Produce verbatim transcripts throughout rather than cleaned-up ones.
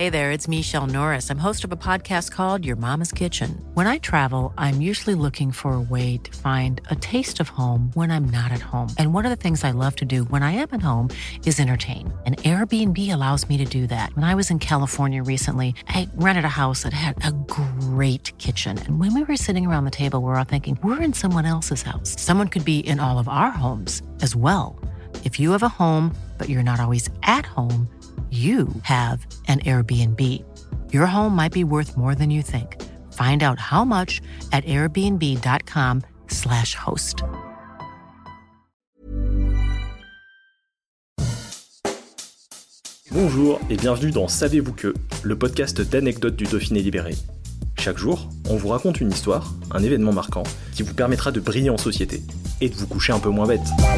Hey there, it's Michelle Norris. I'm host of a podcast called Your Mama's Kitchen. When I travel, I'm usually looking for a way to find a taste of home when I'm not at home. And one of the things I love to do when I am at home is entertain. And Airbnb allows me to do that. When I was in California recently, I rented a house that had a great kitchen. And when we were sitting around the table, we were all thinking, we're in someone else's house. Someone could be in all of our homes as well. If you have a home, but you're not always at home, you have an Airbnb. Your home might be worth more than you think. Find out how much at airbnb.com slash host. Bonjour et bienvenue dans Savez-vous que, le podcast d'anecdotes du Dauphiné libéré. Chaque jour, on vous raconte une histoire, un événement marquant, qui vous permettra de briller en société et de vous coucher un peu moins bête.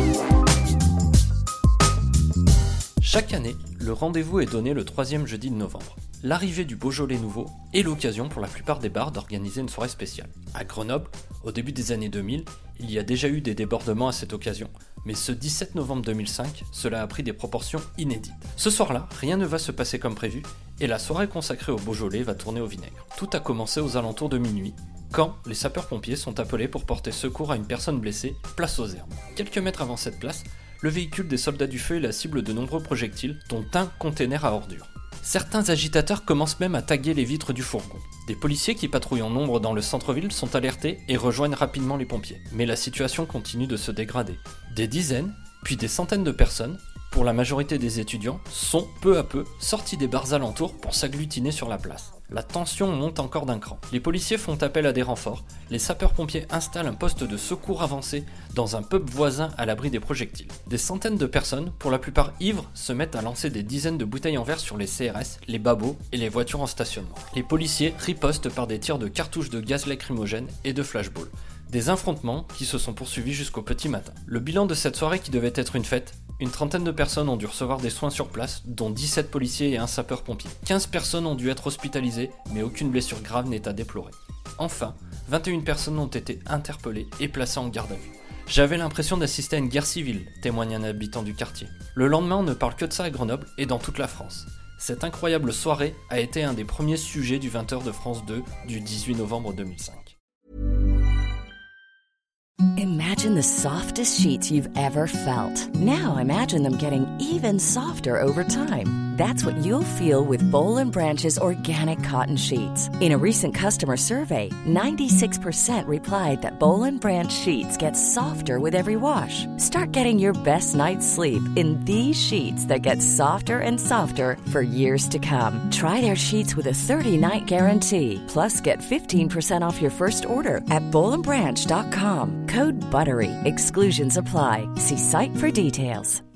Chaque année, le rendez-vous est donné le troisième jeudi de novembre. L'arrivée du Beaujolais nouveau est l'occasion pour la plupart des bars d'organiser une soirée spéciale. À Grenoble, au début des années deux mille, il y a déjà eu des débordements à cette occasion, mais ce dix-sept novembre deux mille cinq, cela a pris des proportions inédites. Ce soir-là, rien ne va se passer comme prévu, et la soirée consacrée au Beaujolais va tourner au vinaigre. Tout a commencé aux alentours de minuit, quand les sapeurs-pompiers sont appelés pour porter secours à une personne blessée, place aux Herbes. Quelques mètres avant cette place, le véhicule des soldats du feu est la cible de nombreux projectiles, dont un container à ordures. Certains agitateurs commencent même à taguer les vitres du fourgon. Des policiers qui patrouillent en nombre dans le centre-ville sont alertés et rejoignent rapidement les pompiers. Mais la situation continue de se dégrader. Des dizaines, puis des centaines de personnes, pour la majorité des étudiants, sont peu à peu sortis des bars alentours pour s'agglutiner sur la place. La tension monte encore d'un cran. Les policiers font appel à des renforts, les sapeurs-pompiers installent un poste de secours avancé dans un pub voisin à l'abri des projectiles. Des centaines de personnes, pour la plupart ivres, se mettent à lancer des dizaines de bouteilles en verre sur les C R S, les babos et les voitures en stationnement. Les policiers ripostent par des tirs de cartouches de gaz lacrymogène et de flashballs. Des affrontements qui se sont poursuivis jusqu'au petit matin. Le bilan de cette soirée qui devait être une fête, une trentaine de personnes ont dû recevoir des soins sur place, dont dix-sept policiers et un sapeur-pompier. quinze personnes ont dû être hospitalisées, mais aucune blessure grave n'est à déplorer. Enfin, vingt et une personnes ont été interpellées et placées en garde à vue. J'avais l'impression d'assister à une guerre civile, témoigne un habitant du quartier. Le lendemain, on ne parle que de ça à Grenoble et dans toute la France. Cette incroyable soirée a été un des premiers sujets du vingt heures de France deux du dix-huit novembre deux mille cinq. Imagine the softest sheets you've ever felt. Now imagine them getting even softer over time. That's what you'll feel with Boll and Branch's organic cotton sheets. In a recent customer survey, ninety-six percent replied that Boll and Branch sheets get softer with every wash. Start getting your best night's sleep in these sheets that get softer and softer for years to come. Try their sheets with a thirty-night guarantee. Plus, get fifteen percent off your first order at boll and branch dot com. Code BUTTERY. Exclusions apply. See site for details.